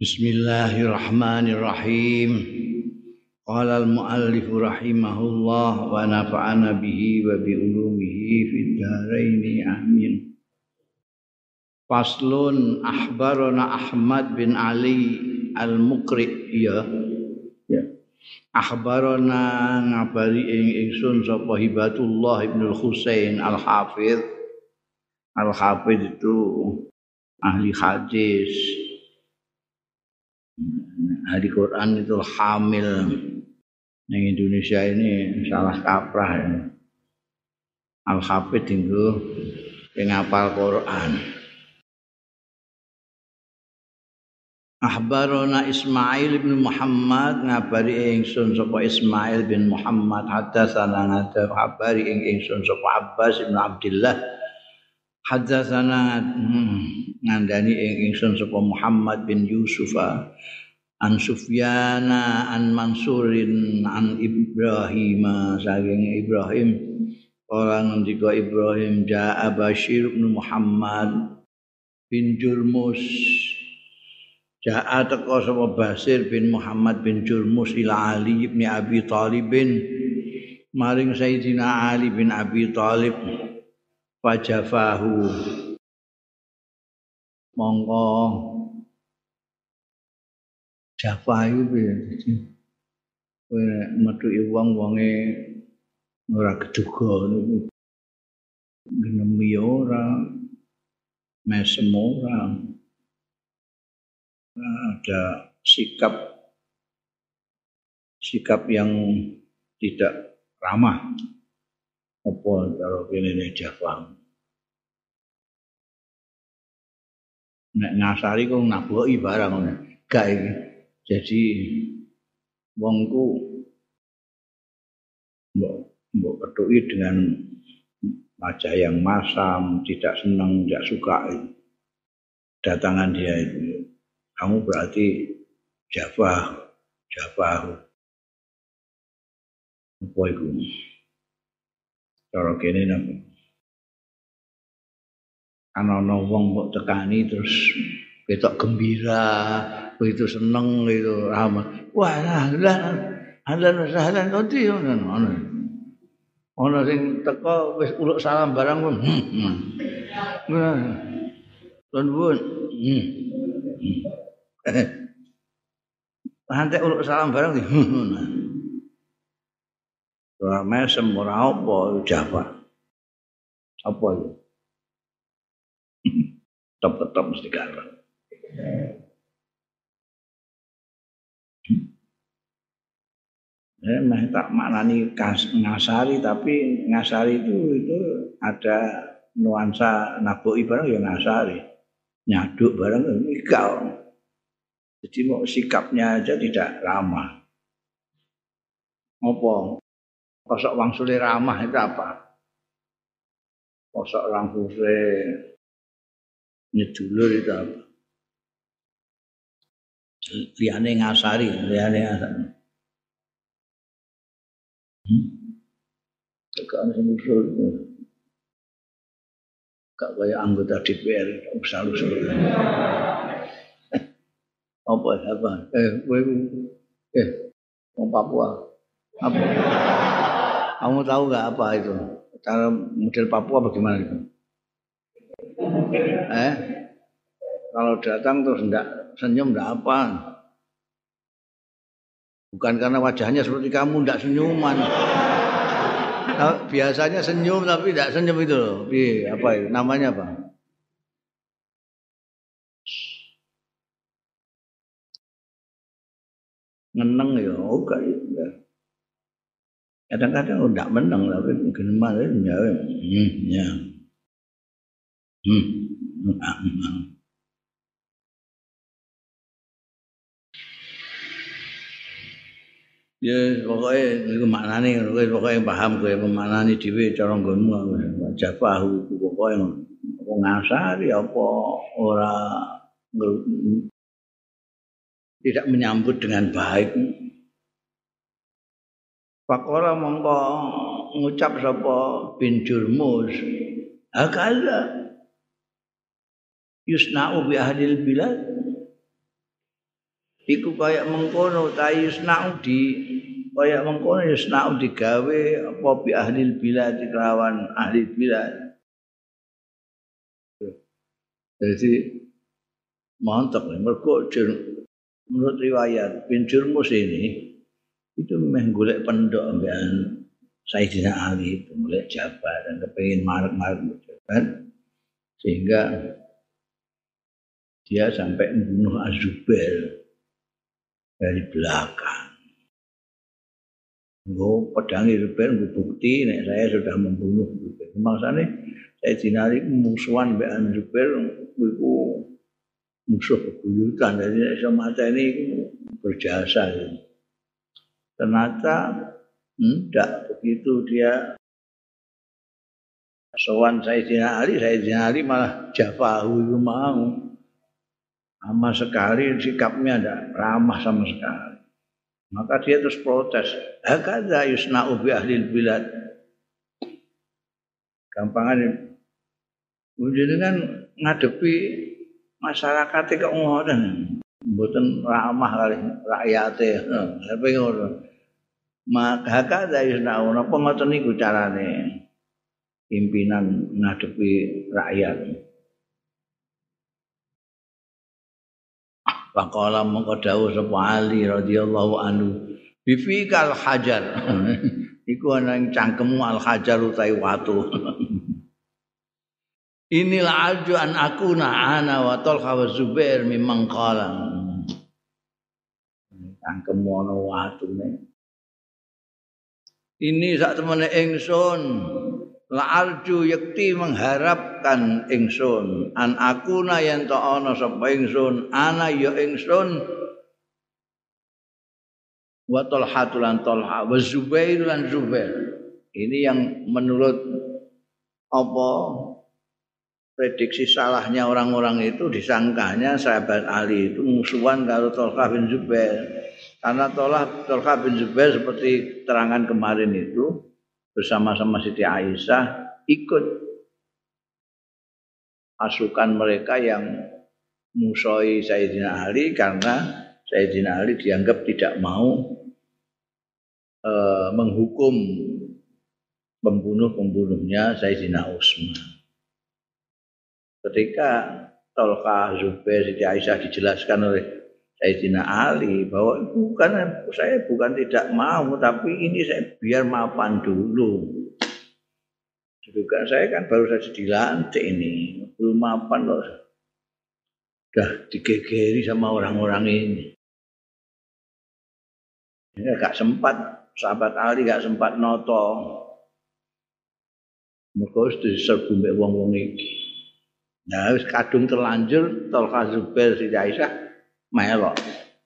Bismillahirrahmanirrahim. Qala al-muallif rahimahullah wa nafa'ana bihi wa bi ulumihi fid dharain amin. Faslun akhbarana Ahmad bin Ali al-Muqri ya. Akhbarana ngabari ingsun sapa Hibatullah Ibnu Husain al-Hafidz. Al-Hafidz itu ahli hadis. Ahli Quran itu hamil. Yang Indonesia ini salah kaprah ya. Al-Hafidz itu yang ngapal Quran. Akhbarana Ismail bin Muhammad ngabari ingsun sapa Ismail bin Muhammad hadatsana ngabari ingsun sapa Abbas bin Abdullah hadatsana ngandani ingsun sapa Muhammad bin Yusuf an Sufyana an Mansurin an Ibrahim saking Ibrahim orang ngendika Ibrahim jaa Bashir bin Muhammad bin Jurmus jaa teka sapa Bashir bin Muhammad bin Jurmus ila Ali bin Abi Thalib maring Sayyidina Ali bin Abi Thalib fajafahu mongko jafahu piye kowe metuki wong-wonge ora keduga niku ngenemi ora mesem ora ada sikap yang tidak ramah apa karo kene Jafang nek ngasari kok naboki barang ngono gak iki jadi wongku mbok kethuki dengan wajah yang masam tidak senang tidak suka datangan dia itu kamu berarti jafah apa itu cara kene napa ana wong kok tekani terus ketok gembira begitu seneng gitu rahmat wah halan kodi ono sing teko wis uluk salam barang pun nuwun nanti uluk salam barang di ora mesem ora apa Jawa apa itu tetep mesti garang mah tak maknani ngasari tapi ngasari itu ada nuansa naboki barang ya ngasari nyaduk barang mikal jadi mau sikapnya aja tidak ramah apa kosok wangsule ramah itu apa kosok wangsule nyedulur itu apa liyane ngasari Gak ada yang usul gak kayak anggota DPR usul-usul apa orang Papua apa kamu tahu gak apa itu cara model Papua bagaimana itu kalau datang terus enggak senyum enggak apa bukan karena wajahnya seperti kamu enggak senyuman. Nah, biasanya senyum tapi enggak senyum itu loh. Apa itu? Namanya apa? Ngeneng ya, oke ya. Kadang-kadang enggak meneng tapi mungkin malah ya. Ya pokoknya itu maknanya pokoknya paham gue maknanya dhewe cara nggonmu jafahu pokoknya apa ngasari apa ora tidak menyambut dengan baik. Faqala mongko ngucap sapa bin Jurmus hakala yusna'u bi ahlil bilad iku kaya mengkono tayusnau di kaya mengkono yusnau digawe apa bi ahli bilad kelawan ahli bilad. Jadi mantap mergo menurut riwayat bin Jurmus ini itu memang golek pendok ambekan Sayyidina Ali itu golek Jabar dan kepengin marek-marek Jabar sehingga dia sampai membunuh Az-Zubair dari belakang. Nggo pedangi Zubair nggo bukti nek saya sudah membunuh Zubair. Maksudnya Sayyidina Ali musuhan mbek Zubair iku musuh bebuyutan jadi iso mateni berjasa. Ternyata tidak begitu dia sowan Sayyidina Ali malah jafahu itu mau. Sama sekali sikapnya tidak ramah sama sekali. Maka dia terus protes. Hakadha yusna'u bi ahlil bilad. Gampangan ini kan ngadepi masyarakat kok ngoten. Mboten ramah kali rakyate. Apa ngono. Maka hakadha yusna'u napa ngoten niku carane pimpinan ngadepi rakyat. Faqala mongko dawuh sapa Ali radhiyallahu anhu bifikal hajar iku ana ing cangkemmu al hajar utawi watu. Inil arju an akuna ana wa Talha wa Zubair mimman qala cangkemmu ana watune. Ini sak temene ingsun la arju yakti mengharapkan ingsun an akuna yen ta ana sapa ingsun ana ya ingsun wa Talhatul lan Talha wa Zubair lan Zubair. Ini yang menurut apa prediksi salahnya orang-orang itu disangkanya sahabat Ali itu musuhan karo Talha bin Zubair. Karena Talha bin Zubair seperti terangan kemarin itu bersama-sama Siti Aisyah ikut pasukan mereka yang musuhi Sayyidina Ali karena Sayyidina Ali dianggap tidak mau menghukum pembunuh-pembunuhnya Sayyidina Utsman. Ketika Talha, Zubair, Siti Aisyah dijelaskan oleh Sayyidina Ali bahwa saya bukan tidak mau tapi ini saya biar mapan dulu. Juga saya kan baru saja dilantik ini, belum mapan loh. Sudah digegeri sama orang-orang ini. Ya gak sempat sahabat Ali gak sempat noto. Mergo diserbu mbek wong-wong iki. Nah, wis kadung terlanjur Talha, Zubair, Siti Aisyah melok.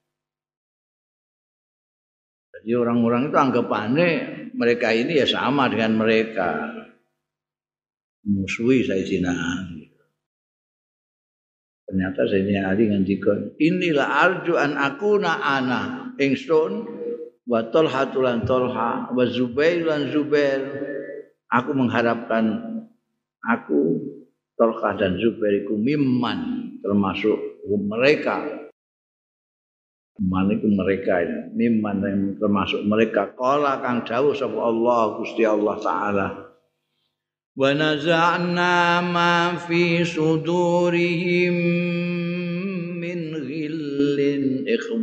Jadi orang-orang itu anggapannya mereka ini ya sama dengan mereka musuhi Sayyidina Ali. Ternyata Sayyidina Ali ngendika, inilah arju an akuna ana ingsun wa Talhatul lan Talha wa Zubair lan Zubair. Aku mengharapkan aku Talha dan Zubair iku mimman termasuk mereka. Maniku mereka ini mimman yang termasuk mereka qala kang dawuh sapa Allah Gusti Allah taala wa naza'na ma fi sudurihim min ghillin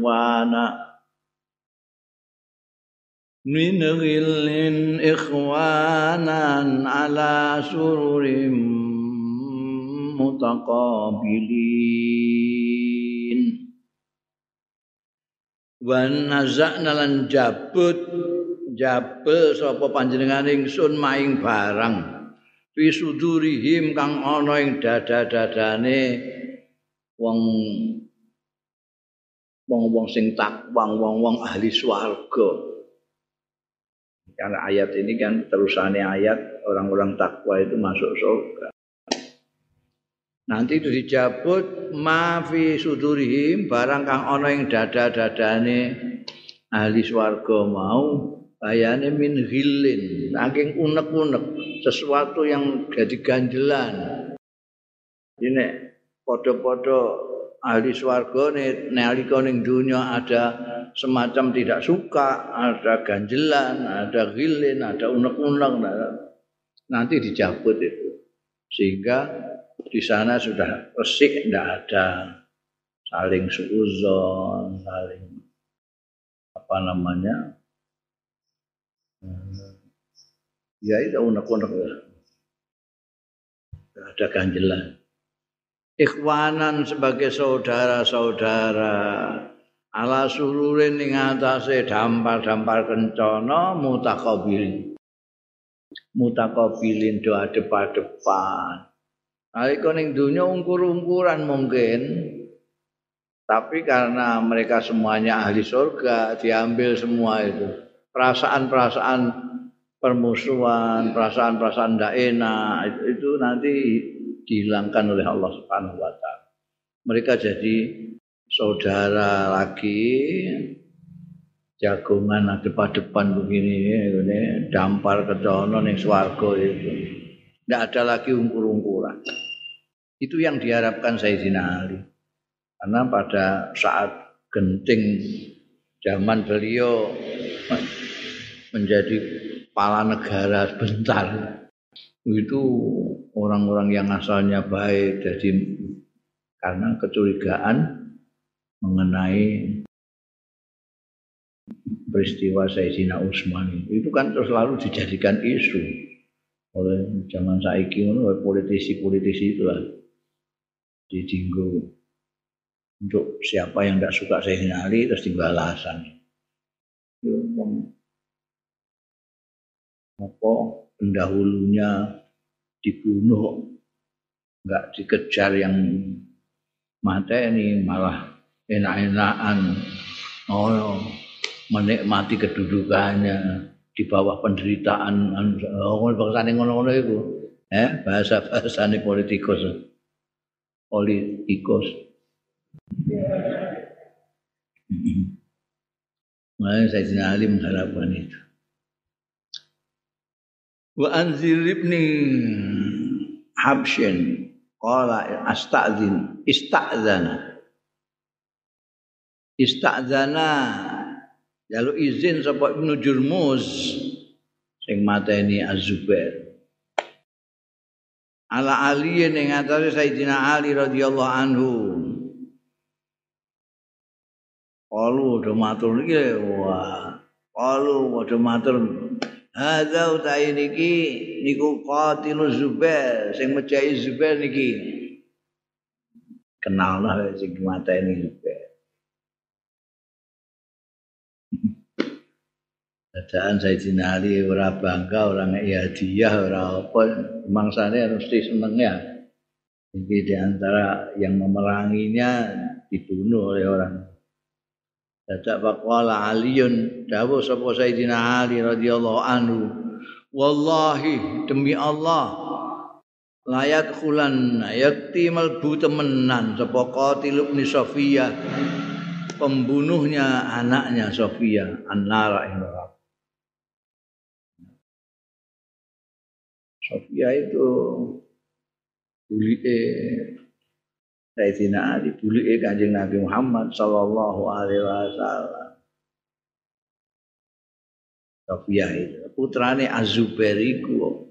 ikhwanan ala sururim mutaqabilin wa nazakna lan jabel sapa panjenengan ingsun maing barang fi sudurihim kang ana ing dada-dadane wong sing takwa wong ahli swarga. Karena ayat ini kan terusannya ayat orang-orang takwa itu masuk surga. Nanti itu dijabut ma fi sudurihim barang kang ana ing dada-dadane ahli swarga mau bayane min ghillin saking unek-unek sesuatu yang jadi ganjelan. Ini padha-padha ahli swarga nalika ning dunya ada semacam tidak suka, ada ganjelan, ada ghilin, ada unek-unek, nanti dicabut itu. Sehingga di sana sudah resik, tidak ada saling suudzon, saling apa namanya? Ya itu unek-unek ya. Ada ganjelan. Ikhwanan sebagai saudara-saudara ala sururin ing atase dampar-dampar kencana mutakabilin do adep-adepan. Nalika ning donya ungkur-ungkuran mungkin, tapi karena mereka semuanya ahli surga diambil semua itu. Perasaan-perasaan permusuhan, perasaan-perasaan tidak enak itu nanti dihilangkan oleh Allah Subhanahu wa taala. Mereka jadi saudara lagi, jagongan adep-adepan begini ini dampar kedono ning swarga itu. Tidak ada lagi ungkur-ungkuran. Itu yang diharapkan Sayyidina Ali. Karena pada saat genting zaman beliau menjadi kepala negara sebentar, itu orang-orang yang asalnya baik jadi karena kecurigaan mengenai peristiwa Sayyidina Utsman itu kan terus selalu dijadikan isu oleh zaman saiki oleh politisi-politisi itulah dijinggung untuk siapa yang tidak suka Sayyidina Ali terus tinggal alasan apa pendahulunya dibunuh, enggak dikejar yang mateni, malah enak-enakan menikmati kedudukannya di bawah penderitaan bangsane ngono-ngono iku. Bahasa-bahasane politikus. Makanya Sayyidina Ali mengharapkan itu. Wa anzir ibni Habsyin qala ista'zana lalu izin sapa Ibnu Jurmuz sing mateni Az-Zubair ala Ali ning atase Sayyidina Ali radhiyallahu anhu. Qalu do matur iki wah qalu do matur hadza utai niki niku qatiluz Zubair sing mejahi Zubair niki kenal lah sing mateni Zubair. Dadaan Sayyidina Ali ora bangga, ora ngeki hadiah, ora apa, mangsane mesti seneng ya. Iki di antara yang memeranginya dibunuh oleh orang. Dadak faqala Aliun dawuh sapa Sayyidina Ali radhiyallahu anhu, wallahi demi Allah layat khulan yakti malbu temenan sapa qatil ibn Safiyah pembunuhnya anaknya Safiyah an-nara ing neraka. Safiyah itu bulike Sayyidina Ali, bulike Kanjeng Nabi Muhammad sallallahu alaihi wasallam. Safiyah itu putrane Az-Zubair iku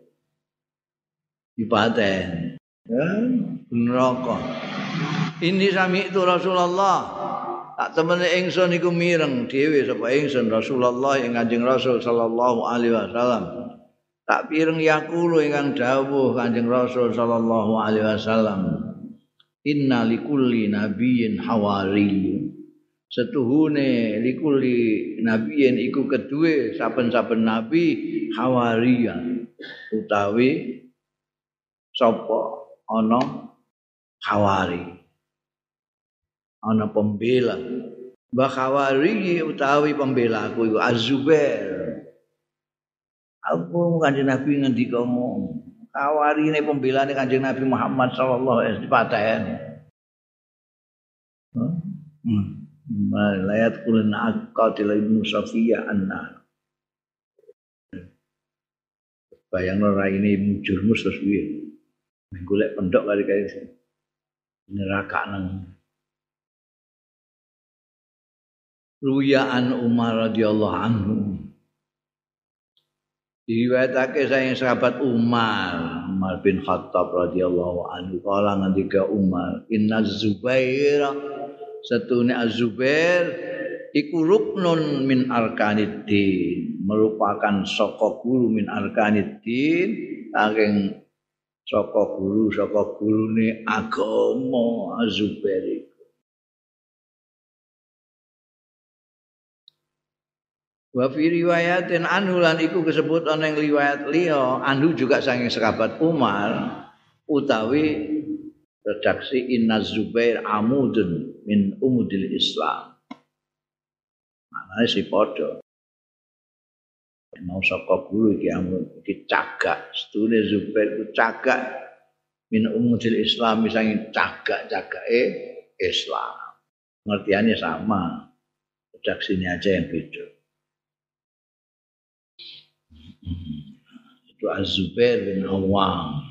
dipaten neraka. Ini sami itu Rasulullah. Tak temene ingsun iku mireng dhewe sapa ingsun Rasulullah ing Kanjeng Rasul sallallahu alaihi wasallam. Tak pireng yaqulu ingkang dawuh Kanjeng Rasul sallallahu alaihi wasallam. Inna likulli nabiyyin hawariyun. Setuhune likulli nabiyyin iku keduwe saben-saben nabi hawariyan utawi sapa ana hawari. Ana pembela. Mbah hawari utawi pembela aku iku Az-Zubair. Aku Kanjeng Nabi ngendika kawarine pembelane Kanjeng Nabi Muhammad sallallahu alaihi wasallam. Layat kulun aqatil ibnu Safiyah anna. Bayangno raine Ibnu Jurmus terus piye? Golek pendhok kali-kali neraka nang Ruyaan Umar radhiyallahu anhu. Diriwayatake saking sahabat Umar bin Khattab radhiyallahu anhu kala ngendika Umar, "Inna Zubair satune Az-Zubair iku ruknun min arkaniddin, merupakan saka guru min arkaniddin, saking saka gurune agama Az-Zubair." Wa fi riwayatin anhu lan iku disebut ana ing riwayat liya anhu juga saking sahabat Umar utawi redaksi Inna Zubair amudun min umudil Islam. Maknane si padha. Mau saka guru iki amud iki cagak, sedune Zubair ku cagak min umudil Islam saking cagak-cagake Islam. Pengertiannya sama. Redaksinya aja yang beda. Itu Az-Zubair bin Awwam,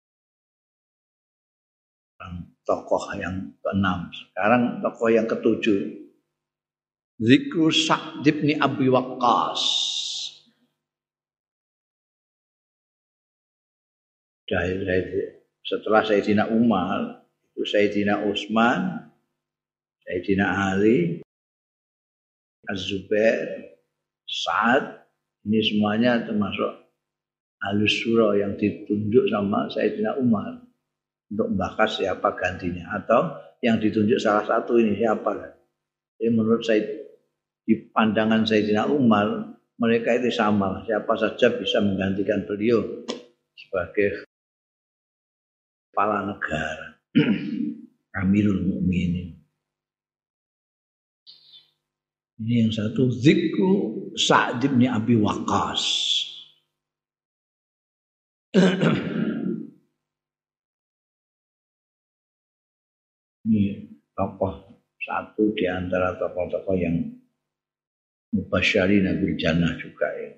tokoh yang ke-6. Sekarang tokoh yang ke-7, Zikru Sa'd bin Abi Waqqas. Setelah Sayyidina Umar, itu Sayyidina Utsman, Sayyidina Ali, Az-Zubair, Sa'ad. Ini semuanya termasuk Ahlus Syura yang ditunjuk sama Sayyidina Umar untuk membahas siapa gantinya atau yang ditunjuk salah satu ini siapa. Jadi menurut saya di pandangan Sayyidina Umar mereka itu sama, siapa saja bisa menggantikan beliau sebagai kepala negara. Amirul Mukminin. Ini yang satu Zikru Sa'd bin Abi Waqqas. Ini tokoh satu di antara tokoh-tokoh yang mubasysyirina bil jannah juga ya.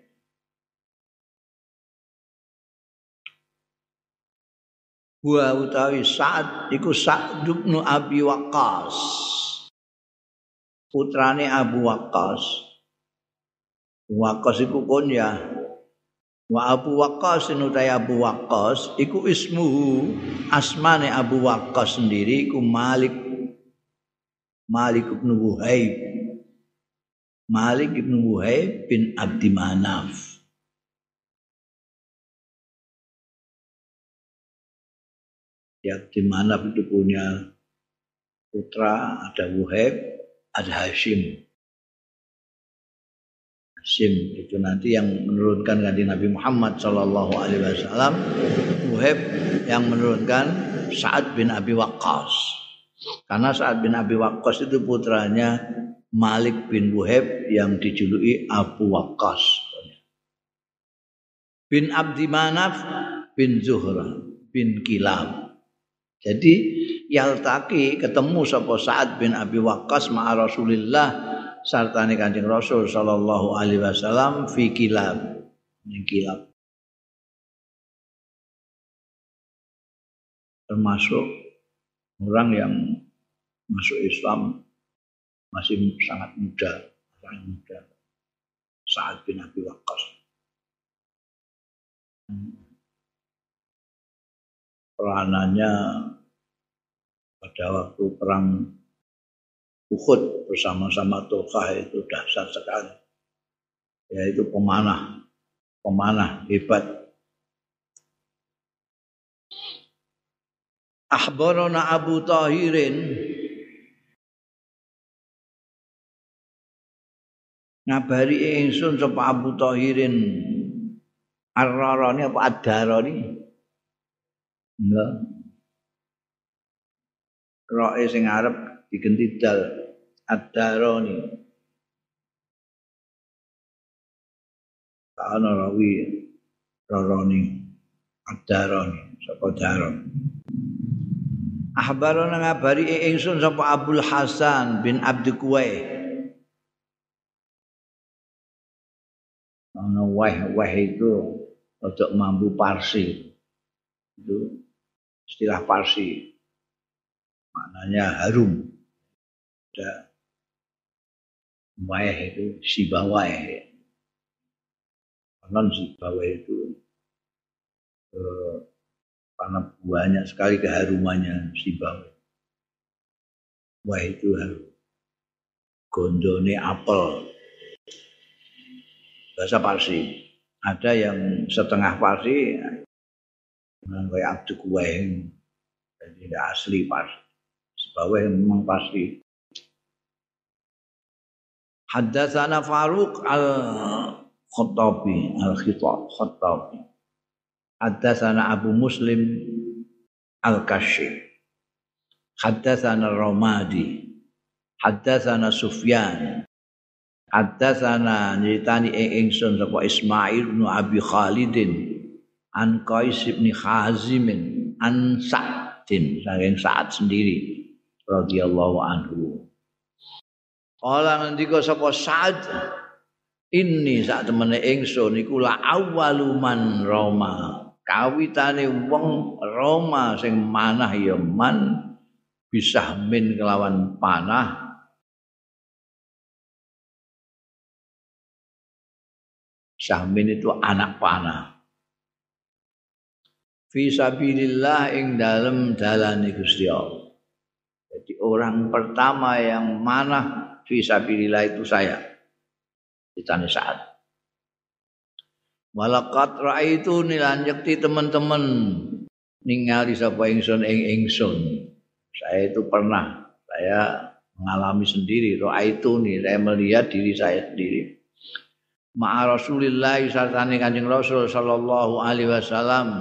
Wa utawi Sa'd iku Sa'd bin Abi Waqqas. Putrane Abu Waqqas. Waqqas iku kunyah. Wa Abu Waqqas nutai Abu Waqqas iku ismuhu, asmane Abu Waqqas sendiri iku Malik bin Wuhaib. Malik bin Wuhaib bin Abdi Manaf. Ya, Abdi Manaf itu punya putra, ada Wuhaib, ada Hashim. Hashim itu nanti yang menurunkan kanjeng Nabi Muhammad sallallahu alaihi wasallam. Wuhaib yang menurunkan Sa'ad bin Abi Waqqas. Karena Sa'ad bin Abi Waqqas itu putranya Malik bin Wuhaib yang dijuluki Abu Waqqas. Bin Abdi Manaf bin Zuhra bin Kilab. Jadi yaltaki ketemu sapa Sa'ad bin Abi Waqqas ma'a Rasulillah sartane Kanjeng Rasul sallallahu alaihi wasallam fi Kilab. Ning Kilab. Termasuk orang yang masuk Islam masih sangat muda, Sa'ad bin Abi Waqqas. Peranannya pada waktu perang Uhud bersama-sama Tolkah itu dahsyat sekali. Yaitu pemanah hebat. Akhbarana Abu Tahirin ngabari ingsun sapa Abu Tahirin Ar-Rarani apa Ad-Darani? Enggak. Roe sing arep digenti dal Ad-Darani. Ana rawi Rarani Ad-Darani sapa Daron. Ahbarana ngabari ingsun sapa Abdul Hasan bin Abdi Kuwai. Ana wah itu untuk mampu Parsi. Itu istilah Parsi. Maknanya harum. Waeh itu Sibawaeh. Non Sibawaeh itu karena banyak sekali keharumannya Sibawaeh. Wah itu harum. Gondone apel. Bahasa Parsi. Ada yang setengah Parsi, kayak Abdul Kuwaing, jadi tidak asli Parsi. Sibawaeh memang pasti. Haddatsana Faruq al-Khattabi, al-Khattabi. Haddatsana Abu Muslim al-Kashif. Haddatsana Ramadi. Haddatsana Sufyan. Haddatsana nyritani ingsun sapa Ismail bin Abi Khalidin an Qais bin Hazim an Sa'din saking Sa'ad sendiri radhiyallahu anhu. Kala ngendika sapa Sa'ad ini sak temene ingsun iku la awwaluman Roma kawitane wong Roma sing manah ya man bisa min kelawan panah Sahmin itu anak panah fi sabilillah ing dalem dalane Gusti Allah. Jadi orang pertama yang manah fisabilillah itu saya ditanya saat walaqad raaitu nilan yakti teman-teman ningali sapa ingsun ing ingsun saya itu pernah saya mengalami sendiri raaitu nih saya melihat diri saya sendiri ma'a Rasulillah sartane Kanjeng Rasul sallallahu alaihi wasallam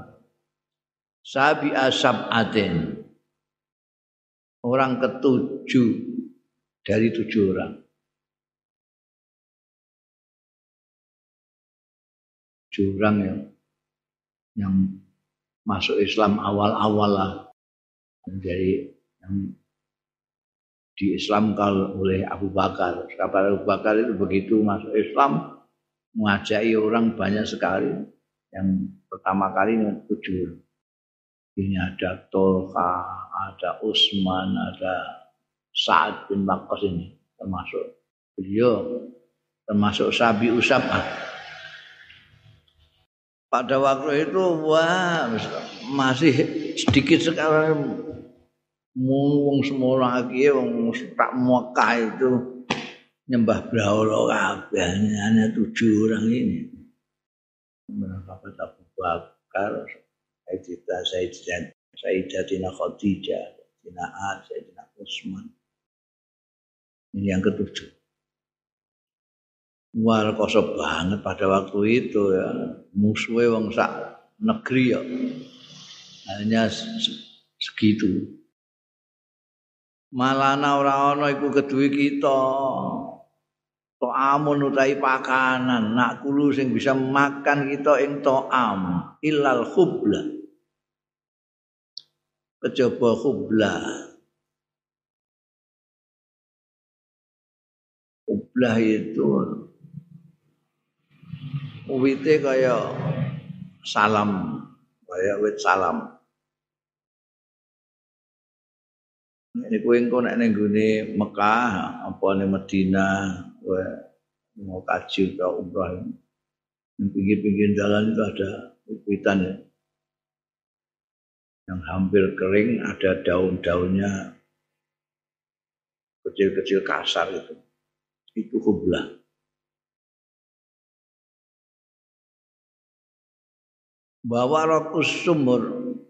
sabi ashabatin orang ketujuh dari 7 orang. 7 orang yang masuk Islam awal-awal lah. Jadi yang diislamkan oleh Abu Bakar. Kabar Abu Bakar itu begitu masuk Islam mengajari orang banyak sekali. Yang pertama kali 7. Ini ada Tolha, ada Utsman, ada Sa'ad bin Waqqas ini termasuk beliau termasuk Sabi Usabah. Pada waktu itu wah masih sedikit sekali wong semua lagi wong tak Mekah itu nyembah brahala kabeh hanya 7 orang ini. Sahabat Abu Bakar, Sayyidatina Khadijah, Sayyidatina Ali, Sayyidina Utsman. Ini yang ketujuh. Wah, kosong banget pada waktu itu ya. Musuhnya wong sak negeri ya. Hanya segitu. Malana ora ana iku keduwe kita. To'amun utai pakanan, nak kulu sing bisa makan kita ing to'am illal khubla. Kejaba khubla. Khubla itu wite kaya salam, kaya wit salam. Ini kowe engko nek ning gone Mekah apa ning Madinah kowe mau kaji atau umrah. Di pinggir-pinggir jalan itu ada witan ya. Yang hampir kering ada daun-daunnya kecil-kecil kasar itu. Itu khublah. Warakus sumur.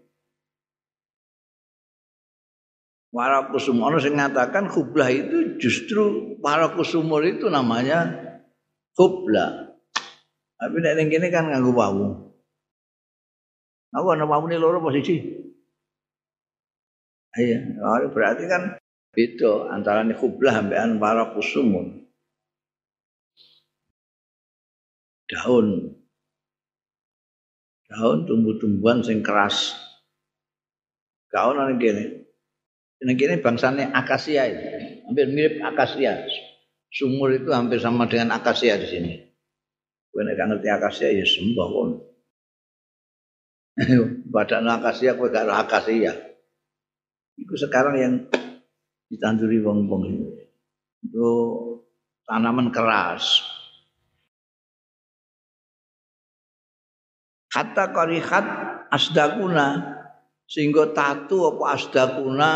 Warakus sumur orang yang mengatakan khublah itu justru warakus sumur itu namanya khublah. Tapi nek ning kene kan nganggo wawu. Aku ana wawune loro posisi. Iya, berarti kan beda antara khublah ambekan warakus sumur. Daun tumbuh-tumbuhan sing keras. Gak ono ning kene. Ning kene bangsane akasia itu. Hampir mirip akasia. Sumur itu hampir sama dengan akasia di sini. Kowe nek gak ngerti akasia ya sembah kon. Badan akasia kowe gak akasia. Itu sekarang yang ditanduri wong-wong itu. Itu tanaman keras. Kata karihat asdakuna sehingga tatu apa asdakuna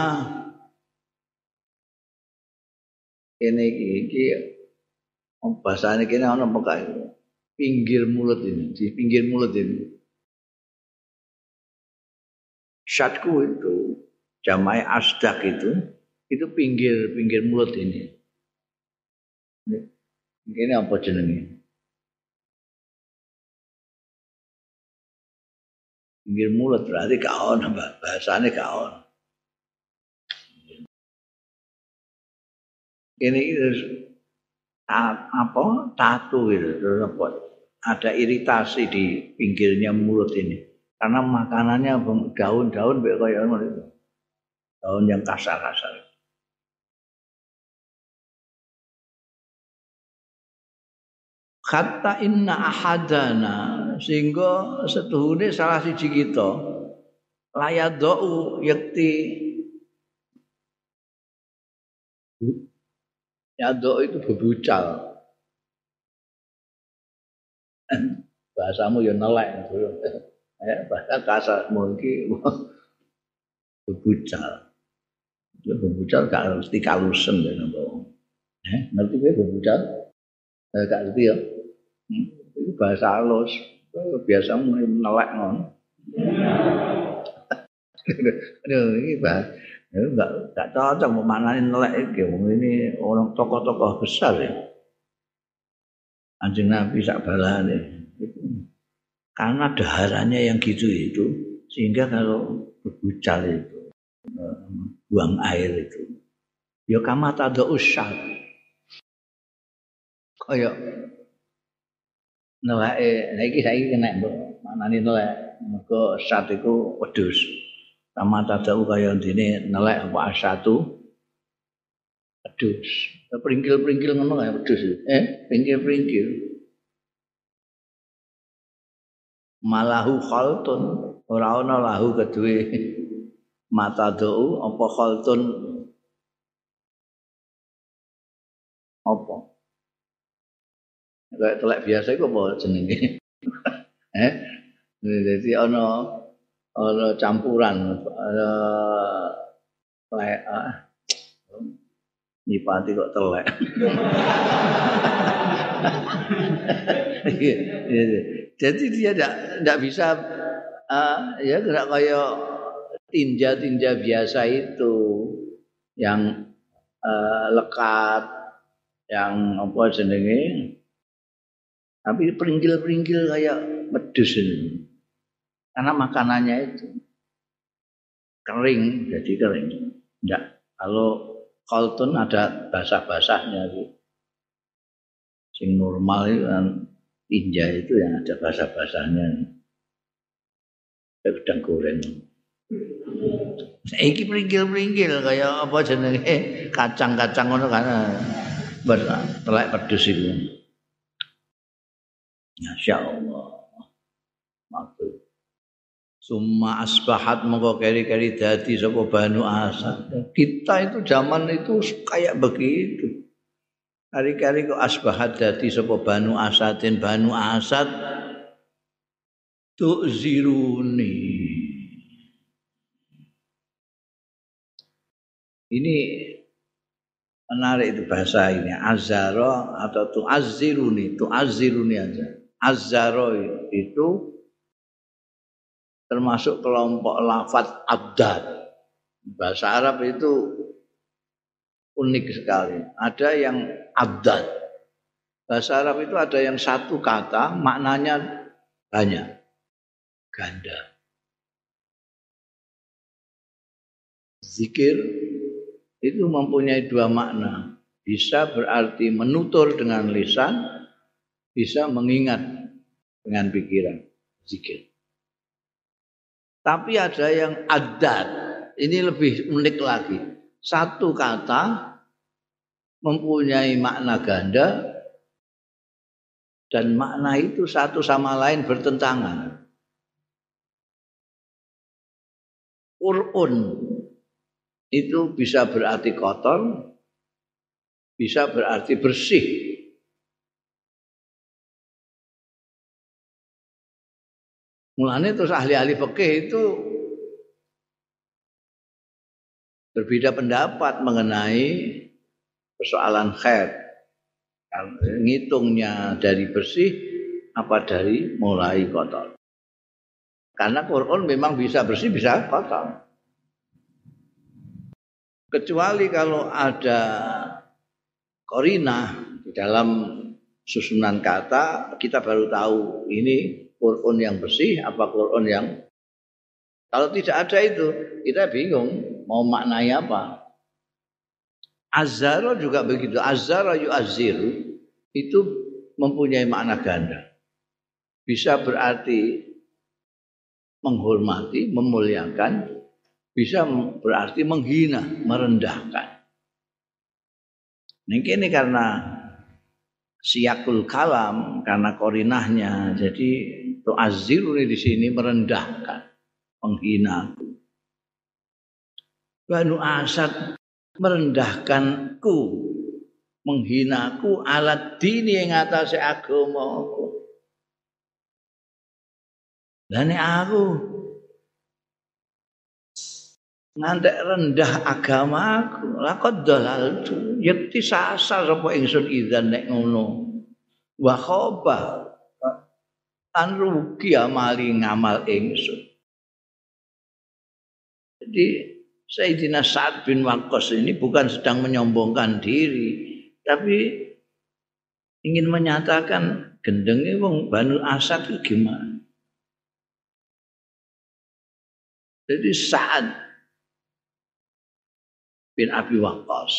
ini iki bahasane kene ana apa kae pinggir mulut ini di pinggir mulut ini syatku itu jamae asdak itu pinggir mulut ini apa jenenge pinggir mulut berarti gak ono bahasane gak ono ini apa tatu gitu ada iritasi di pinggirnya mulut ini karena makanannya daun-daun kayak ngono daun yang kasar-kasar kata inna ahadana sehingga setuhune salah siji kita layadau yakti yadau itu bebucal bahasamu ya nelek bahasa kasarmu iki bebucal ya bebucal gak ngerti kalusen ya ngerti kowe bebucal gak ngerti ya itu bahasa halus biasamu nelek ngono ini bahasa enggak cocok memaknani nelek iki ini orang tokoh-tokoh besar ya Kanjeng Nabi sak balane karena daharannya yang gitu itu sehingga kalau berbucal itu buang air itu ya kama tada usat kaya neleke saiki kena maknane nelek mergo sat iku wedhus kama tada kaya dene nelek apa asatu wedhus pringkil-pringkil ngono kaya wedhus pringkil-pringkil malahu khaltun ora ana lahu kedue matadau apa khaltun apa kayak telek biasa iku apa jenenge jadi ana campuran telek nyipati kok telek jadi dia tidak bisa ya enggak kayak tinja-tinja biasa itu yang lekat yang apa jenenge tapi peringgil-peringgil kayak wedhus ini karena makanannya itu kering jadi kering enggak kalau kaltun ada basah-basahnya gitu sing normal itu kan tinja itu yang ada basah-basahnya udang goreng iki pringgil-pringgil kayak apa jenenge kacang-kacang ngono kan telek pedus itu masyaallah maksud summa asbahat mongko keri-keri dadi sapa Banu Asad kita itu zaman itu kayak begitu hari-hari kok asbahat dadi sapa Banu Asadin Banu Asad tu'ziruni ini menarik itu bahasa ini azara atau tu'azziruni aja azzara itu termasuk kelompok lafaz abdad bahasa Arab itu unik sekali ada yang abdad bahasa Arab itu ada yang satu kata maknanya banyak ganda zikir itu mempunyai dua makna bisa berarti menutur dengan lisan bisa mengingat dengan pikiran zikir tapi ada yang adat ini lebih unik lagi satu kata mempunyai makna ganda dan makna itu satu sama lain bertentangan qur'un. Itu bisa berarti kotor, bisa berarti bersih. Mulane terus ahli-ahli fikih itu berbeda pendapat mengenai persoalan khair. Ngitungnya dari bersih apa dari mulai kotor. Karena Quran memang bisa bersih bisa kotor. Kecuali kalau ada qarinah di dalam susunan kata, kita baru tahu ini Quran yang bersih apa Quran yang, kalau tidak ada itu kita bingung mau maknai apa. Azzara juga begitu. Azzara yu'azziru itu mempunyai makna ganda. Bisa berarti menghormati, memuliakan, bisa berarti menghina, merendahkan. Ini karena siyakul kalam, karena korinahnya. Jadi tu'azziru di sini merendahkan, menghina. Banu Asad merendahkanku, menghinaku alat dini yang atase agamaku. Lane aku ngantek rendah agamaku, laqad dalaltu, yakti sasar apa ingsun idzan nek ngono. Wa khaba an rugi amali ngamal ingsun. Jadi Sayyidina Sa'ad bin Waqqas ini bukan sedang menyombongkan diri, tapi ingin menyatakan gendenge wong Banu Asad itu gimana. Jadi Sa'ad bin Abi Waqqas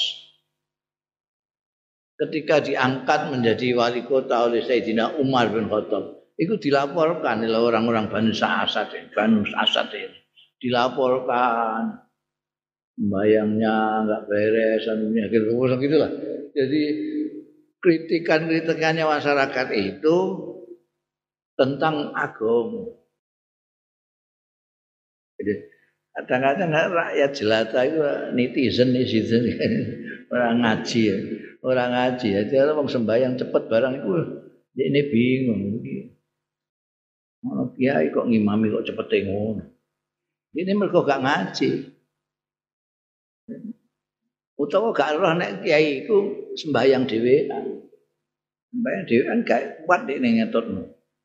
ketika diangkat menjadi wali kota oleh Sayyidina Umar bin Khattab, itu dilaporkan oleh orang-orang Banu Asad ini. Dilaporkan bayangnya enggak beres, anunya gitu lah. Jadi kritikannya masyarakat itu tentang agama. Jadi kadang-kadang rakyat jelata itu netizen orang ngaji ya. Jadi orang sembahyang cepet barang itu ini bingung. Ono kiai kok ngimami kok cepet ngono. Ini mergo gak ngaji. Utawa gak roh nek kiai iku sembahyang dhewean. Sembahyang dhewean gak kuat nek ngetutno.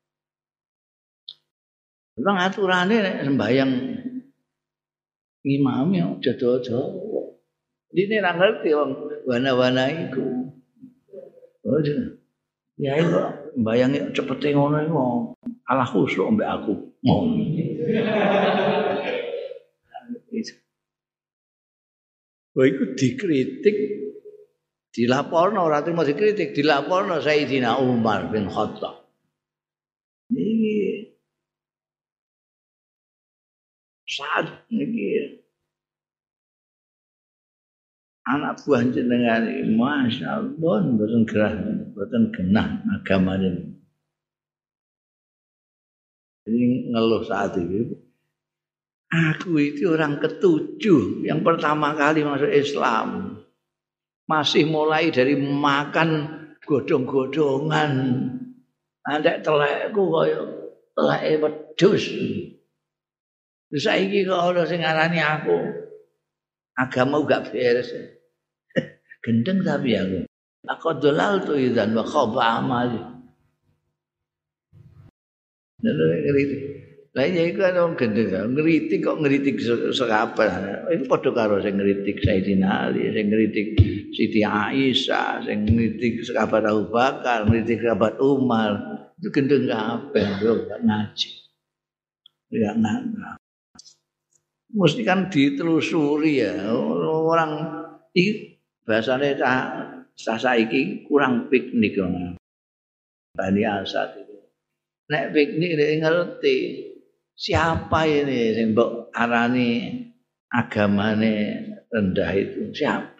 Wong aturane nek sembahyang ngimami aja dodo. Dene ra ngerti wong wana-wana iku. Ya kok mbayangi cepete ngono iku ala khusuk mbek aku. Wah iku dikritik, dilaporno ora terima dikritik, dilaporno Sayyidina Umar bin Khattab. Niki saat niki anak buah jenengan masyaallah mboten gerah, mboten genah agamane. Jadi ngeluh saat itu. Aku itu orang ketujuh yang pertama kali masuk Islam. Masih mulai dari makan godhong-godhongan. Andek telekku kaya teleke wedhus. Saiki kok ana sing ngarani aku agama gak beres. Gendeng tapi aku. Aku dolal tu idzan wa khaba amali. Lah ya iku ana gendeng ngritik kok ngritik sekapan. Iku padha karo sing ngritik Sayyidina Ali, sing ngritik Siti Aisyah, sing ngritik sahabat Abu Bakar, ngritik sahabat Umar. Itu gendeng kabeh yo gak ngaji. Ya nggak. Mesti kan ditelusuri ya. Orang iki bahasane saiki kurang piknik ngono. Bani Asad itu. Nek piknik dia ngerti siapa ini sing mbok arani agamane rendah itu siapa?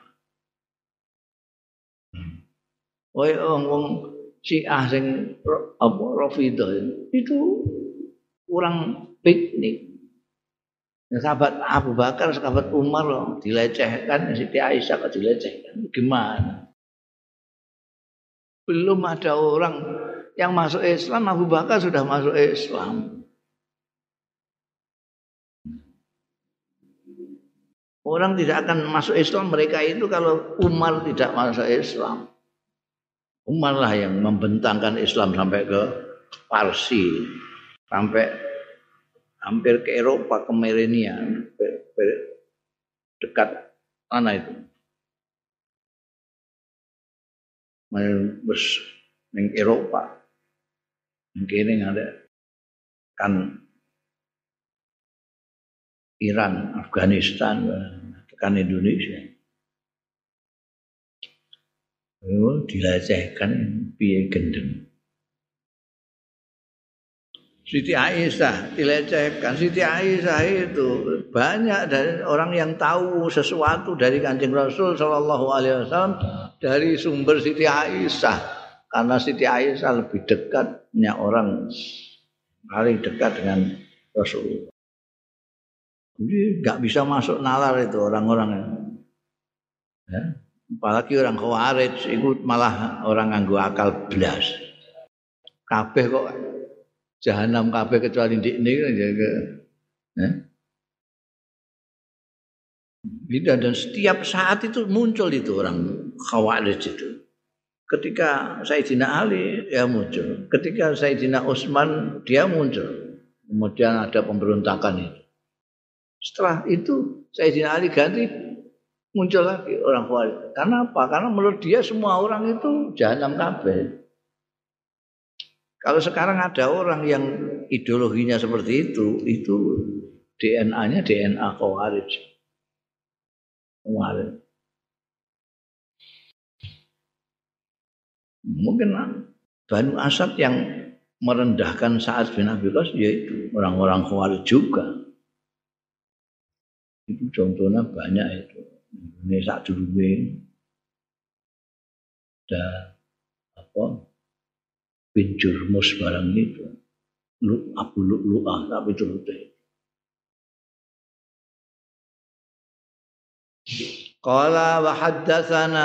Wong Syiah sing apa Rafidhah itu kurang piknik. Sahabat Abu Bakar, sahabat Umar loh, dilecehkan, Siti Aisyah kok dilecehkan. Gimana? Belum ada orang yang masuk Islam, Abu Bakar sudah masuk Islam. Orang tidak akan masuk Islam mereka itu kalau Umar tidak masuk Islam. Umar lah yang membentangkan Islam sampai ke Parsi, sampai hampir ke Eropa, ke Merenia, dekat mana itu? Bus ning Eropa. Mungkin ada kan Iran, Afghanistan, tekan Indonesia. Oh, dilecehkan piye gendeng. Siti Aisyah dilecehkan. Siti Aisyah itu banyak dari orang yang tahu sesuatu dari Kanjeng Rasul sallallahu alaihi wasallam dari sumber Siti Aisyah. Karena Siti Aisyah lebih dekatnya orang paling dekat dengan Rasulullah. Jadi nggak bisa masuk nalar itu orang-orang. Ya. Apalagi orang Khawarij itu malah orang nganggo akal blas. Kabeh kok jahanam kabeh kecuali ndikne ya. Dan setiap saat itu muncul itu orang Khawarij itu. Ketika Sayyidina Ali ya muncul, ketika Sayyidina Utsman dia muncul. Kemudian ada pemberontakan itu. Setelah itu Sayyidina Ali ganti muncul lagi orang Khawarij. Karena apa? Karena menurut dia semua orang itu jahanam kabeh. Kalau sekarang ada orang yang ideologinya seperti itu DNA-nya DNA Khawarij. Khawarij. Mungkin Banu Asad yang merendahkan Sa'ad bin Abi Waqqas yaitu orang-orang Khawarij juga. Itu contohnya banyak itu. Ini sak durunge ada apa bin Jurmus barang itu Abu Lu'lu'ah tapi turute qala wa haddatsana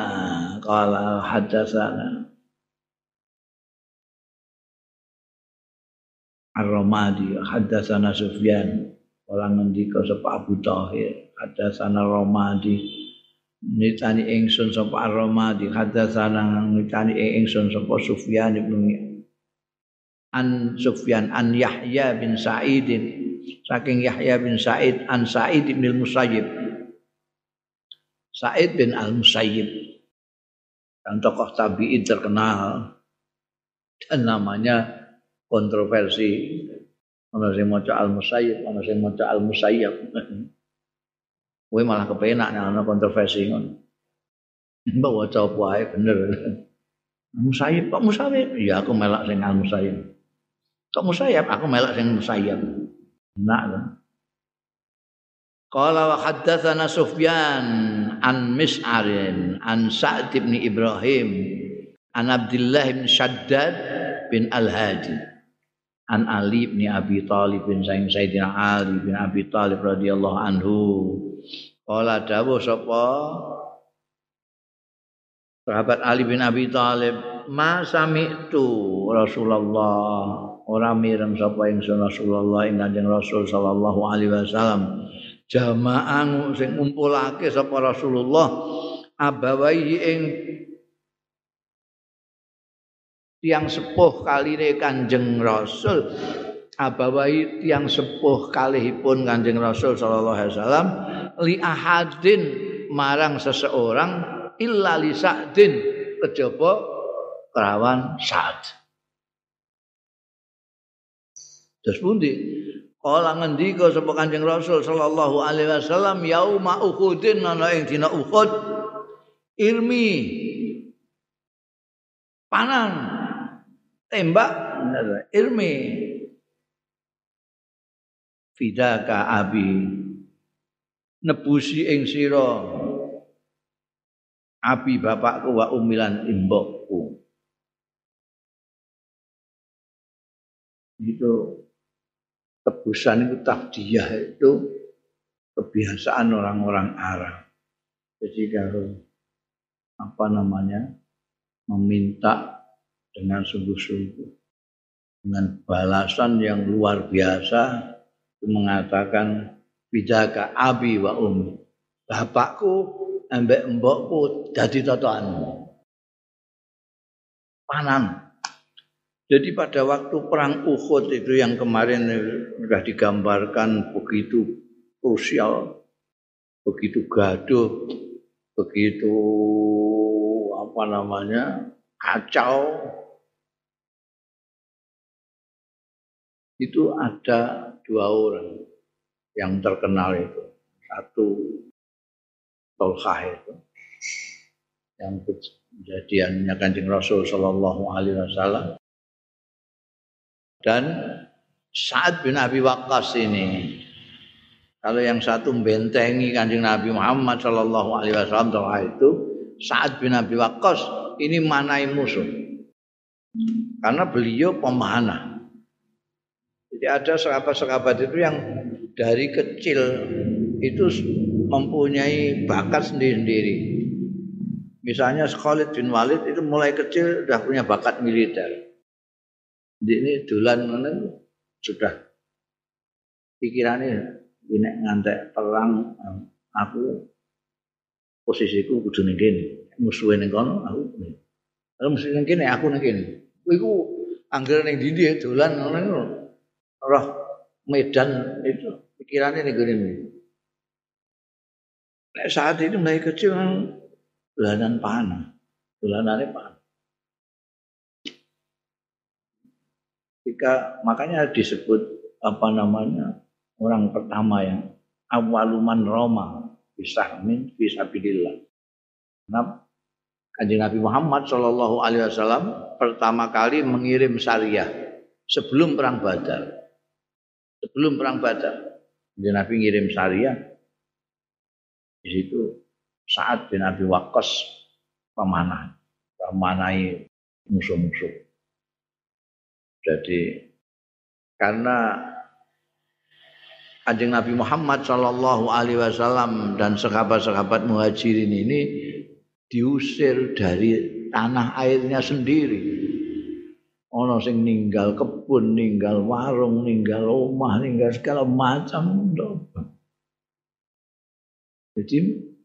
Ar-Ramadi haddatsana Sufyan orang ngendika sapa Abu Thahir haddatsana Ramadi nitani ingsun sapa Ar-Ramadi haddatsana nitani ingsun sapa Sufyan bin an Yahya bin Sa'id saking Yahya bin Sa'id an Sa'id bin Musayyib Sa'id bin Al-Musayyib yang tokoh tabi'in terkenal dan namanya kontroversi. Ana sing maca Al-Musayyib, ana sing maca Al-Musayyab. Kowe malah kepenak nek ana kontroversi ngono. Mbok waca apa ae bener. Musayyib kok Musayyib? Ya aku melak sing Al-Musayyib. Kok Musayyab? Aku melak sing Musayyab. Enak lho. Qala wa haddatsana Sufyan an Mis'arin an Sa'd bin Ibrahim an Abdullah bin Shaddad bin Al-Hadi. An Ali bin Abi Thalib bin Sayyidina Ali bin Abi Thalib radhiyallahu anhu. Qala dawuh sapa sahabat Ali bin Abi Thalib, "Ma sami'tu Rasulullah." Ora mireng sapa ingsun Rasulullah ing Kanjeng Rasul sallallahu alaihi wasallam. Jamaah sing ngumpulake sapa Rasulullah abawaihi ing tiang sepuh kaline Kanjeng Rasul abawai tiang sepuh kalihipun Kanjeng Rasul sallallahu alaihi wasallam li ahadin marang seseorang illa li Sa'din kejaba kelawan Sa'd. Terus pundi? Kala ngendika sapa Kanjeng Rasul sallallahu alaihi wasallam yauma Uhudin ana ing dina Uhud ilmi panang tembak ilmi fidaka abi nebusi ing sira abi bapakku wa umilan imbokku itu tebusan itu tafdiyah itu kebiasaan orang-orang Arab. Jadi kalau apa namanya meminta dengan sungguh-sungguh, dengan balasan yang luar biasa, mengatakan bidaka abi wa ummi, bapakku ambek mbokku dadi totoanmu. Panan. Jadi pada waktu perang Uhud itu yang kemarin sudah digambarkan begitu krusial, begitu gaduh, begitu kacau. Itu ada 2 orang yang terkenal itu. Satu Tolhah itu yang kejadiannya Kanjeng Rasul sallallahu alaihi wasallam, dan Sa'ad bin Abi Waqqas ini. Kalau yang satu membentengi Kanjeng Nabi Muhammad sallallahu alaihi wasallam itu Sa'ad bin Abi Waqqas ini manai musuh. Karena beliau pemanah. Jadi ada sahabat-sahabat itu yang dari kecil itu mempunyai bakat sendiri-sendiri. Misalnya Khalid bin Walid itu mulai kecil sudah punya bakat militer. Jadi ini dolan sudah pikirannya ini ngantek perang, aku posisiku kudu ning kene. Musuhe ning kono aku. Kalau musuh ning kene aku ning kene. Iku anggere ning ndi dolan ngono. Roh medan itu pikirannya ning gone. Nek saat itu mulai kecil dolanan panah. Dolanane panah. Makanya disebut orang pertama yang awaluman Roma bisahmin fisabilillah. Karena Kanjeng Nabi Muhammad sallallahu alaihi wasallam pertama kali mengirim syariah sebelum perang Badar. Sebelum perang Badar, Kanjeng Nabi ngirim syariah. Di situ Sa'ad bin Abi Waqqas memanai musuh-musuh. Jadi karena Kanjeng Nabi Muhammad sallallahu alaihi wasallam dan sahabat-sahabat Muhajirin ini diusir dari tanah airnya sendiri. Ono sing ninggal kebun, ninggal warung, ninggal omah, ninggal segala macam. Jadi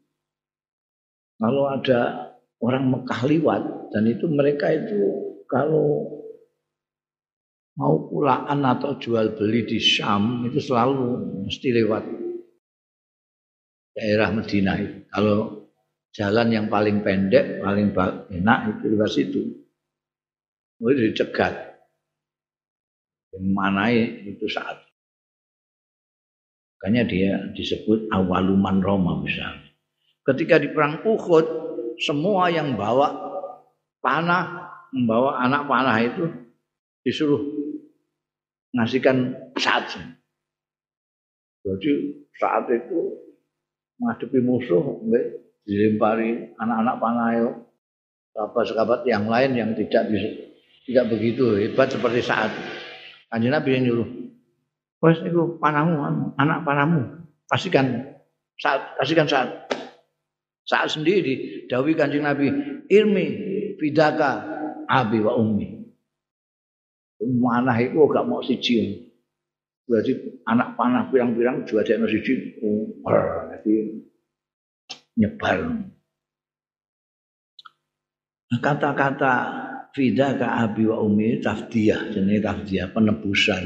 kalau ada orang Mekah liwat dan itu mereka itu kalau mau pulaan atau jual beli di Syam itu selalu mesti lewat daerah Madinah itu. Kalau jalan yang paling pendek, paling enak itu lewat situ. Itu dicegat. Yang manai itu saat. Makanya dia disebut awaluman Roma misalnya. Ketika di perang Uhud, semua yang bawa panah, membawa anak panah itu disuruh ngasihkan saat. Jadi saat itu menghadapi musuh, dilempari anak-anak panah itu, sahabat-sahabat yang lain yang tidak begitu hebat seperti saat. Kanjeng Nabi yang nyuruh, wes itu panahmu, anak panahmu, kasihkan saat. Saat sendiri dawuh Kanjeng Nabi, ilmi fidaka abi wa ummi. Manah itu gak mau siji. Berarti anak panah pirang-pirang juadekno siji. Jadi nyebar. Kata-kata fidaka abi wa ummi tafdiyah, jenenge tafdiyah penebusan.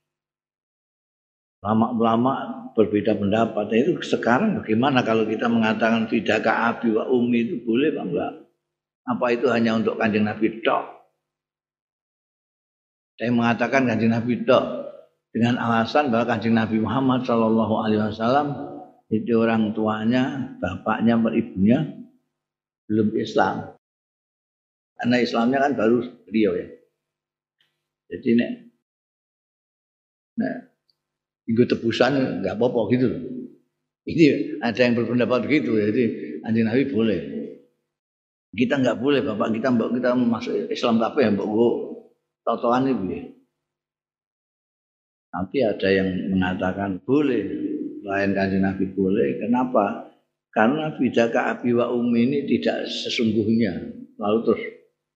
Lama-lama berbeda pendapat. Itu sekarang bagaimana kalau kita mengatakan fidaka abi wa ummi itu boleh apa enggak? Apa itu hanya untuk Kanjeng Nabi tok? Saya mengatakan Kanjeng Nabi tok dengan alasan bahwa Kanjeng Nabi Muhammad sallallahu alaihi wasallam itu orang tuanya, bapaknya, ibunya belum Islam. Karena Islamnya kan baru beliau ya. Jadi nek ikut tebusan enggak apa-apa gitu loh. Ini ada yang berpendapat begitu, jadi Kanjeng Nabi boleh. Kita enggak boleh, bapak kita mbok kita masuk Islam tapi ya mbok totoan itu ya. Nanti ada yang mengatakan boleh, lain Kanjeng Nabi boleh. Kenapa? Karena bidaka abi wa ummi ini tidak sesungguhnya. Lalu terus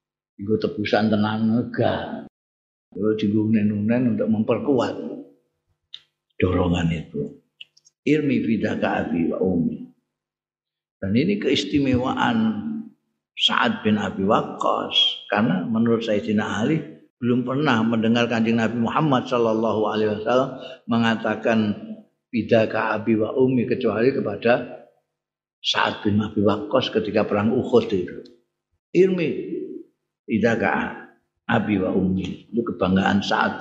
Iku tebusan tenan enggak. Yo digunen-gunen untuk memperkuat dorongan itu. Irmi fidaka abi wa ummi. Dan ini keistimewaan Sa'ad bin Abi Waqqas karena menurut Sayyidina Ali belum pernah mendengar Kanjeng Nabi Muhammad sallallahu alaihi wasallam mengatakan fidaka abi wa ummi kecuali kepada Sa'ad bin Abi Waqqas ketika perang Uhud itu. Irmi fidaka abi wa ummi itu kebanggaan Sa'ad.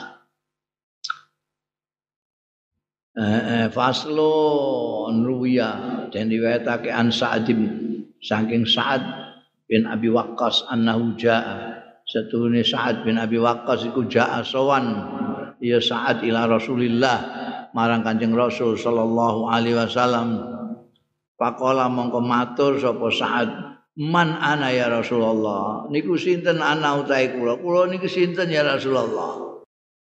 Faslo nuya dan riwayatake an Sa'ad saking Sa'ad bin Abi Waqqas annahu jaa satune Sa'ad bin Abi Waqqas iku jaa sowan ya Sa'ad ila Rasulillah marang Kanjeng Rasul sallallahu alaihi wasallam faqala mongko matur sapa Sa'ad man ana ya Rasulullah niku sinten ana utahe kula niku sinten ya Rasulullah.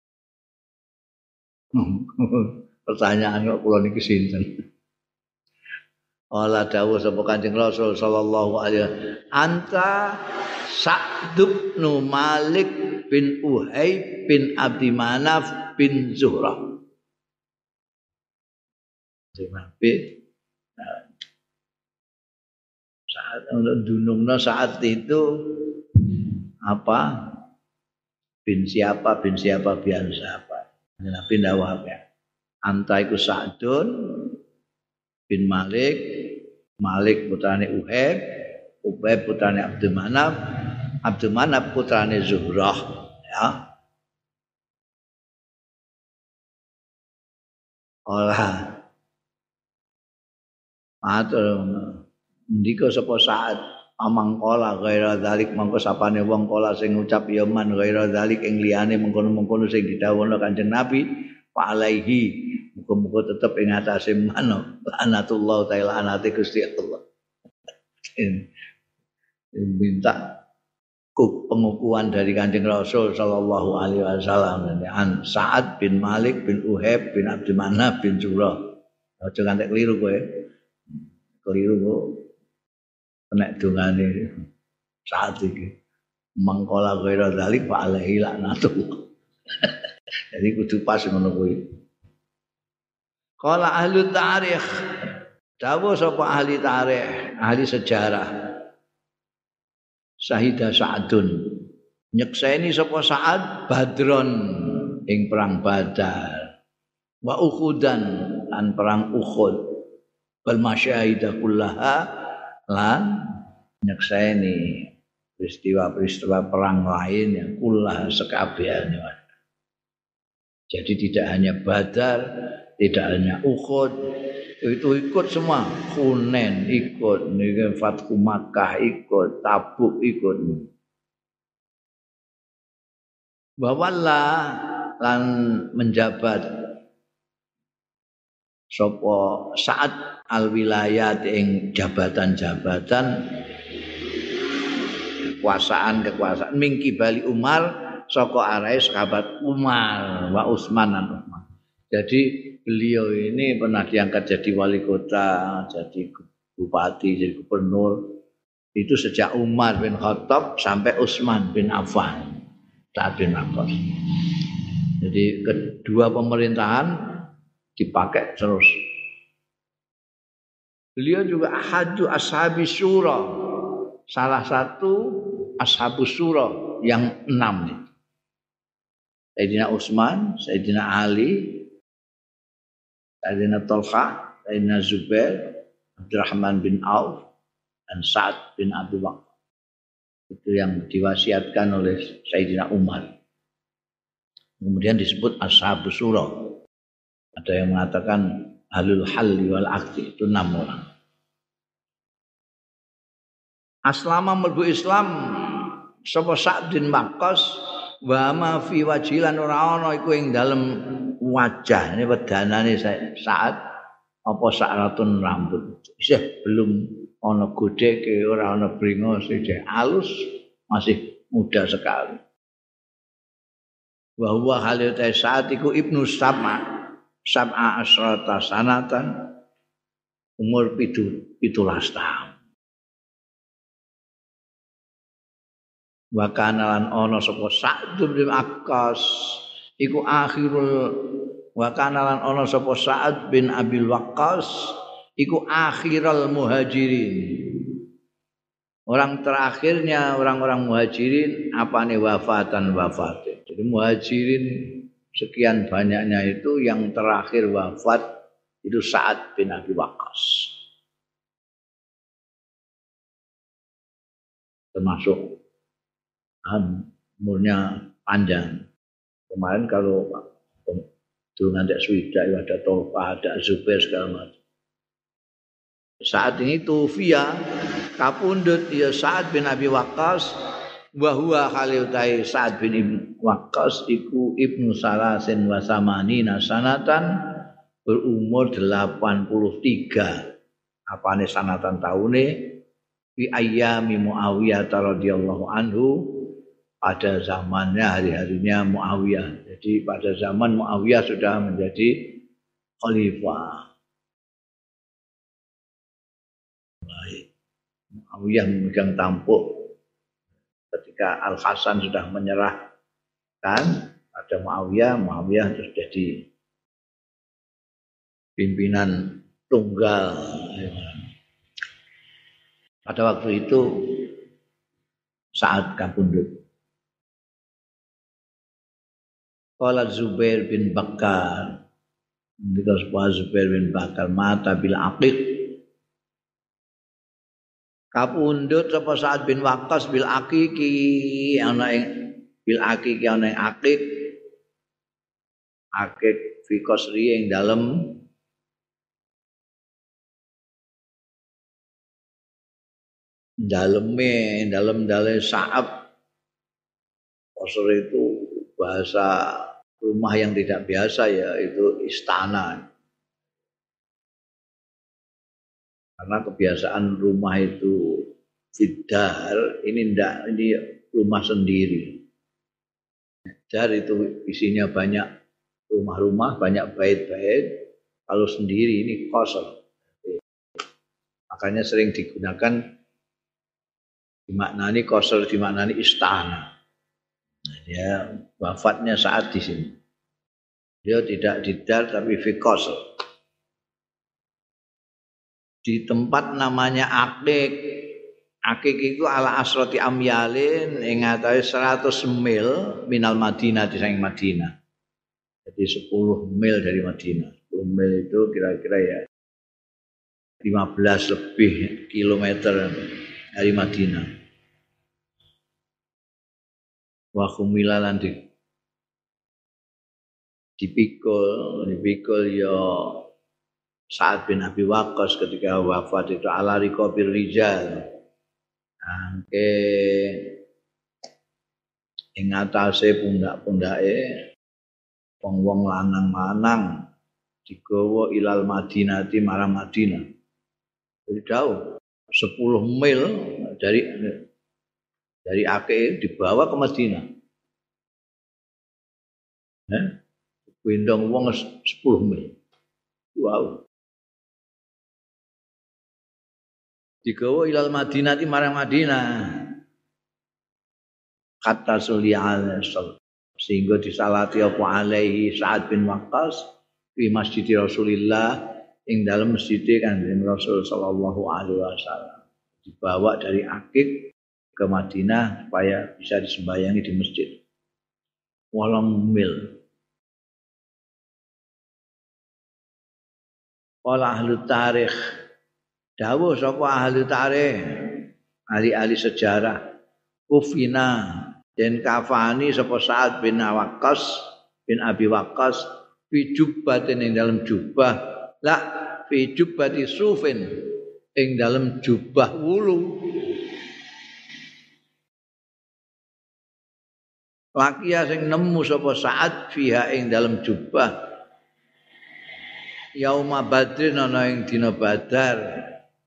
Pertanyaan kok kula niki sinten? Ala dawuh sapa Kanjeng Rasul sallallahu alaihi wasallam, anta Sa'd bin Malik bin Uhayb bin Abdi Manaf bin Zuhrah. Saat untuk dunungna saat itu apa? Bin siapa biar siapa. Nabi dawuh apa? Anta iku Sa'dun bin Malik putrane Uhayb putrane Abdul Manaf putrane Zuhrah ya. Olah matur ndika sapa Sa'ad amangkola ghaira dzalik mangko sapane wong kala sing ngucap ya man ghaira dzalik ing liyane mengkono-mengkono sing didhawuhna Kanjeng Nabi fa alaihi muga-muga tetep ing atase man lanatullah taala anate Gusti Allah. Minta pengukuhan dari Kanjeng Rasul sallallahu alaihi wasallam an Sa'ad bin Malik bin Uhayb bin Abdul Manaf bin Zuhrah. Aja ngantek keliru kowe. Keliru kok kena dongane Sa'ad iki. Mangkola ghaira dzalik fa alaihi laknatullah. Jadi kudu pas ngono kuwi. Qala ahli tarikh dawuh sapa ahli tarikh, ahli sejarah. Syahida Sa'dun nyekseni sapa Sa'ad Badron ing perang Badar. Wa Uhudan lan perang Uhud. Wal masyahidah kullaha lan nyekseni peristiwa-peristiwa perang lain yang kullaha sekabehane. Jadi tidak hanya Badar, tidak hanya Uhud, itu ikut semua. Hunain ikut, Fathu Makkah ikut, Tabuk ikut. Bawalla lan menjabat sapa Sa'ad al-wilayat ing jabatan-jabatan kekuasaan mingki bali Umar saka arahe sahabat Umar wa Utsman dan Utsman. Jadi beliau ini pernah diangkat jadi wali kota, jadi bupati, jadi gubernur. Itu sejak Umar bin Khattab sampai Utsman bin Affan. Sa'ad bin Waqqas. Jadi kedua pemerintahan dipakai terus. Beliau juga ahadu ashabi syura. Salah satu ashabus syura yang 6 nih. Sayyidina Utsman, Sayyidina Ali, Sayyidina Talha, Sayyidina Zubair, Abdurrahman bin Auf, dan Sa'ad bin Abi Waqqas. Itu yang diwasiatkan oleh Sayyidina Umar. Kemudian disebut Ashabus Syura. Ada yang mengatakan Ahlul Halli wal Aqdi, itu 6 orang. Aslama mlebu Islam sapa Sa'ad bin Waqqas wa ma fi wajilan ora ana iku ing dalem wajah ini wedanane Sa'ad apa sakratun rambut isih belum ana godheke ora ana bringos isih alus masih muda sekali wa huwa halita Sa'ad iku ibnu sab'a asrata sanatan umur 17 tahun wa kana lan ana sapa Sa'd bin Waqqas iku akhirul wa kana lan ana sapa Sa'd bin Abil Waqqas iku akhirul muhajirin. Orang terakhirnya orang-orang muhajirin apane wafatan. Jadi muhajirin sekian banyaknya itu yang terakhir wafat itu Sa'ad bin Abi Waqqas. Termasuk umurnya panjang. Kemarin kalau dulu nanti Swida ada Tolpa, ada Zubair segala macam. Saat ini Tufia kapundhut ya Sa'ad bin Abi Waqqas wa huwa khaliutai Sa'ad bin Waqqas iku ibnu salasin wa samanina sanatan berumur 83 apane sanatan taune fi ayyami Muawiyah radhiyallahu anhu pada zamannya hari-harinya Muawiyah. Jadi pada zaman Muawiyah sudah menjadi khalifah. Muawiyah memegang tampuk ketika Al Hasan sudah menyerahkan pada Muawiyah terus jadi pimpinan tunggal. Pada waktu itu saat kapundhut. Qala Zubair bin Bakar, Zubair bin Bakar mata bil aqiq. Kapundhut sapa Sa'ad bin Waqqas bil aqiqi ana ing bil aqiqi ana ing aqiq fi qasri ing dalem dalem Sa'ab. Qasr itu bahasa rumah yang tidak biasa ya, itu istana. Karena kebiasaan rumah itu Fiddar, ini rumah sendiri. Dar itu isinya banyak rumah-rumah, banyak bait-bait. Kalau sendiri ini kosong. Makanya sering digunakan dimaknani kosong, dimaknani istana. Dia wafatnya saat di sini. Dia tidak di dar tapi fi kosong. Di tempat namanya Aqiq. Aqiq itu ala asrati amyalin ing atase 100 mil minal Madinah di saking Madinah. Jadi 10 mil dari Madinah. 10 mil itu kira-kira ya 15 lebih kilometer dari Madinah. Wa khumilalan dipikul ya Sa'ad bin Abi Waqqas ketika wafat itu ala riqabir rijal. Angke ing atase pundak-pundake wong-wong lanang-lanang digawa ilal Madinati marang Madinah. Jadi jauh 10 mil dari Aqiq dibawa ke Madinah. Gendong wong 10 mil. Wow. Digawa ilal Madinati marang Madinah. Kata Sulaiman sehingga disalati apa alaihi Sa'ad bin Waqqas di Masjid Rasulillah ing dalam masjid Kanjeng Rasul sallallahu alaihi wasallam. Dibawa dari Aqiq ke Madinah supaya bisa disembayangi di masjid. 8 mil. Qala ahli tarikh dawuh sapa ahli tarikh, ahli-ahli sejarah, kufina den kafani sapa Sa'ad bin Waqqas bin Abi Waqqas fi jubbatin ing dalam jubah, la fi jubbati sufin ing dalam jubah wulu. Lakia sing nemu sapa Sa'ad fiha ing dalam jubah yauma badrin ana ing dina Badar.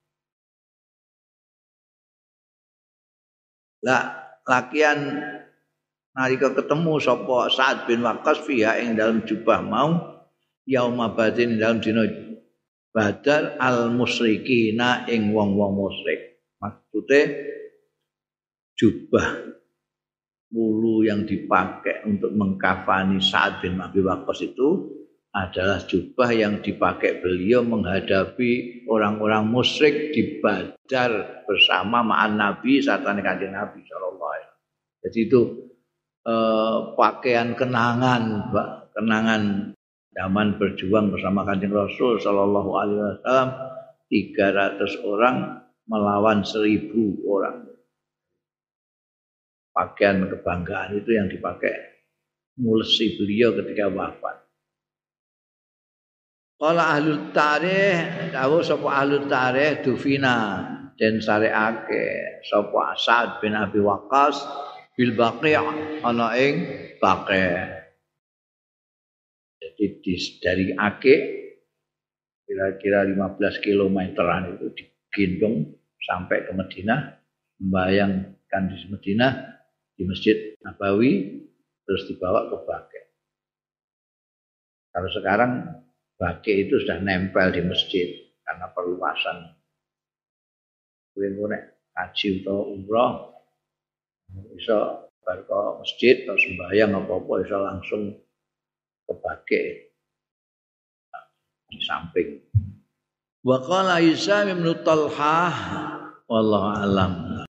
Lakian nalika ketemu sapa Sa'ad bin Waqqas fiha ing dalam jubah mau yauma badrin dalam dina Badar al musyrikina ing wong-wong musyrik. Maksude jubah yang dipakai untuk mengkafani Sa'ad bin Abi Waqqas itu adalah jubah yang dipakai beliau menghadapi orang-orang musyrik di Badar bersama ma'an Nabi sartane Kanjeng Nabi sallallahu alaihi wasallam. Jadi itu pakaian kenangan zaman berjuang bersama Kanjeng Rasul sallallahu alaihi wasallam 300 orang melawan 1000 orang. Pakaian kebanggaan itu yang dipakai mulesi beliau ketika wafat. Qala ahlul tarikh, dawuh sapa ahlul tarikh dufina den sareake sapa Sa'ad bin Abi Waqqas bil Baqi' ana ing Baqi'. Jadi dari Akik kira-kira 15 kilometeran itu digendong sampai ke Madinah, membayangkan di Madinah di Masjid Nabawi terus dibawa ke Baqi'. Kalau sekarang Baqi' itu sudah nempel di masjid karena perluasan. Kowe nek haji utawa umrah bisa bar ke masjid atau sembahyang apa-apa bisa langsung ke Baqi' di samping. Wa qala Hisam bin Talhah wallahu alam.